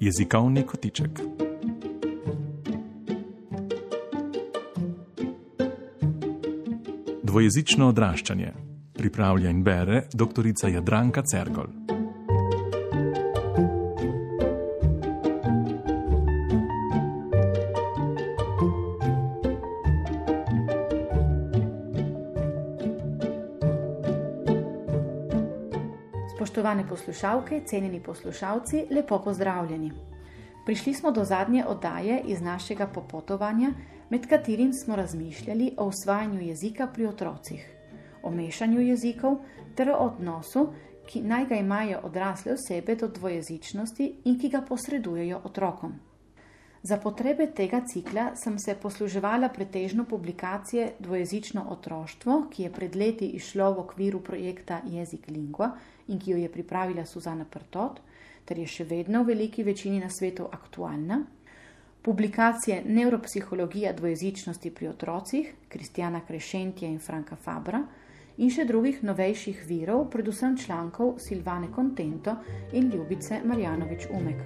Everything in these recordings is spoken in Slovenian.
Jezikovni kotiček. Dvojezično odraščanje. Pripravlja in bere doktorica Jadranka Cergol. Spoštovane poslušalke, cenjeni poslušalci, lepo pozdravljeni. Prišli smo do zadnje oddaje iz našega popotovanja, med katerim smo razmišljali o usvajanju jezika pri otrocih, o mešanju jezikov ter o odnosu, ki naj ga imajo odrasle osebe do dvojezičnosti in ki ga posredujejo otrokom. Za potrebe tega cikla sem se posluževala pretežno publikacije Dvojezično otroštvo, ki je pred leti izšlo v okviru projekta Jezik Lingua in ki jo je pripravila Suzana Prtot, ter je še vedno v veliki večini na svetu aktualna, publikacije Neuropsihologija dvojezičnosti pri otrocih Kristjana Krešentja in Franka Fabra in še drugih novejših virov, predvsem člankov Silvane Contento in Ljubice Marjanović Umek.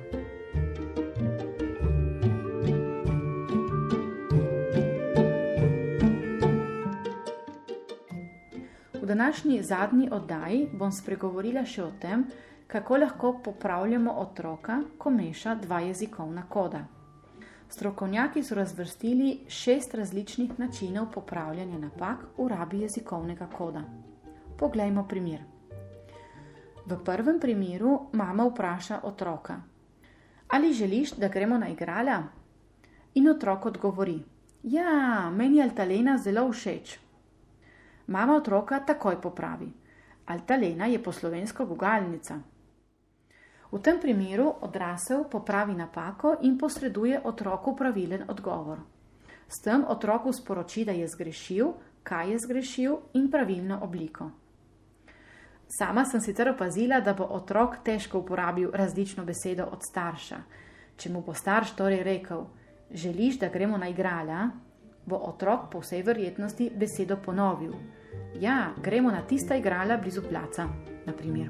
V današnji zadnji oddaji bom spregovorila še o tem, kako lahko popravljamo otroka, ko meša dva jezikovna koda. Strokovnjaki so razvrstili 6 različnih načinov popravljanja napak v rabi jezikovnega koda. Poglejmo primer. V prvem primeru mama vpraša otroka: ali želiš, da gremo na igrala? In otrok odgovori: ja, meni je Altalena zelo všeč. Mama otroka takoj popravi: Altalena je po slovensko gugalnica. V tem primeru odrasel popravi napako in posreduje otroku pravilen odgovor. S tem otroku sporoči, da je zgrešil, kaj je zgrešil in pravilno obliko. Sama sem sicer opazila, da bo otrok težko uporabil različno besedo od starša. Če mu bo starš torej rekel: želiš, da gremo na igrala, bo otrok po vsej verjetnosti besedo ponovil: ja, gremo na tista igrala blizu placa, na primer.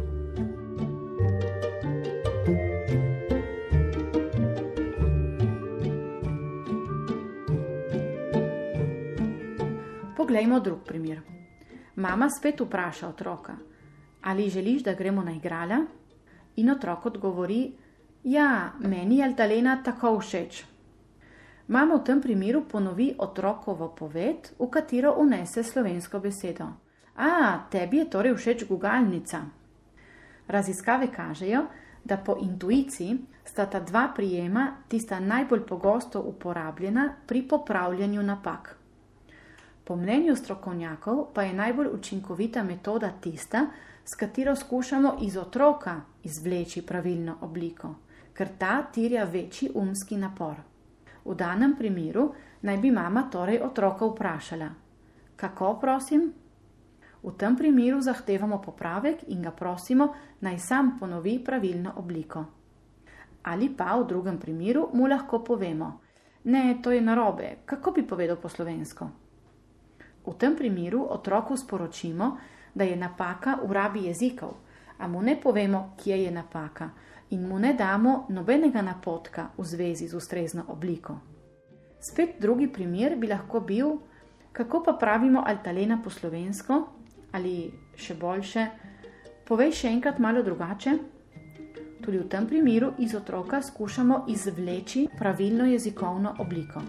Poglejmo drug primer. Mama spet vpraša otroka: ali želiš, da gremo na igrala? In otrok odgovori: ja, meni je Altalena tako všeč. Mama v tem primeru ponovi otrokovo poved, v katero vnese slovensko besedo: tebi je torej všeč gugalnica. Raziskave kažejo, da po intuiciji sta ta dva prijema tista najbolj pogosto uporabljena pri popravljanju napak. Po mnenju strokovnjakov pa je najbolj učinkovita metoda tista, s katero skušamo iz otroka izvleči pravilno obliko, ker ta terja večji umski napor. V danem primeru naj bi mama torej otroka vprašala: kako, prosim? V tem primeru zahtevamo popravek in ga prosimo, naj sam ponovi pravilno obliko. Ali pa v drugem primeru mu lahko povemo: ne, to je narobe, kako bi povedal po slovensko? V tem primeru otroku sporočimo, da je napaka v rabi jezikov, a mu ne povemo, kje je napaka, in mu ne damo nobenega napotka v zvezi z ustrezno obliko. Spet drugi primer bi lahko bil: kako pa pravimo Altalena po slovensko? Ali še boljše: povej še enkrat malo drugače? Tudi v tem primeru iz otroka skušamo izvleči pravilno jezikovno obliko.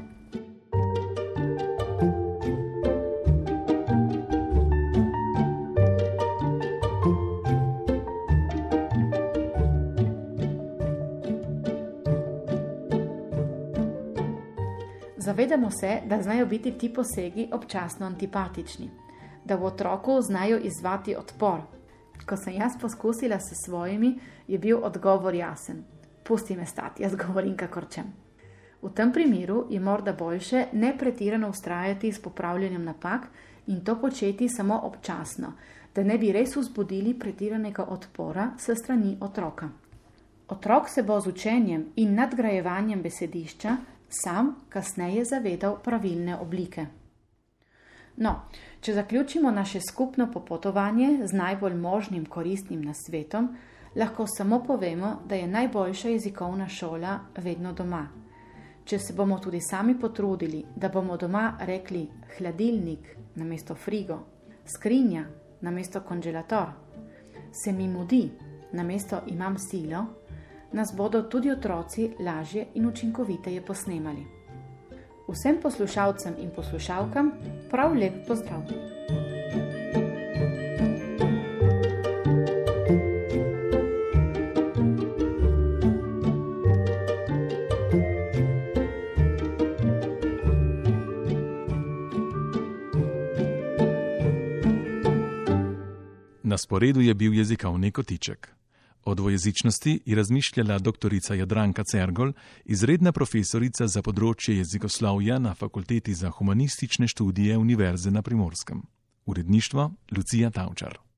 Zavedamo se, da znajo biti ti posegi občasno antipatični, da v otroku znajo izzvati odpor. Ko sem jaz poskusila s svojimi, je bil odgovor jasen: pusti me stati, jaz govorim kakor čem. V tem primeru je morda boljše ne pretirano vztrajati s popravljanjem napak in to početi samo občasno, da ne bi res vzbudili pretiranega odpora s strani otroka. Otrok se bo z učenjem in nadgrajevanjem besedišča sam kasneje zavedal pravilne oblike. No, če zaključimo naše skupno popotovanje z najbolj možnim koristnim nasvetom, lahko samo povemo, da je najboljša jezikovna šola vedno doma. Če se bomo tudi sami potrudili, da bomo doma rekli hladilnik namesto frigo, skrinja namesto konželator, se mi mudi namesto imam silo, nas bodo tudi otroci lažje in učinkoviteje posnemali. Vsem poslušalcem in poslušalkam prav lep pozdrav! Na sporedu je bil jezikovni kotiček. O dvojezičnosti je razmišljala doktorica Jadranka Cergol, izredna profesorica za področje jezikoslovja na Fakulteti za humanistične študije Univerze na Primorskem. Uredništvo Lucija Tavčar.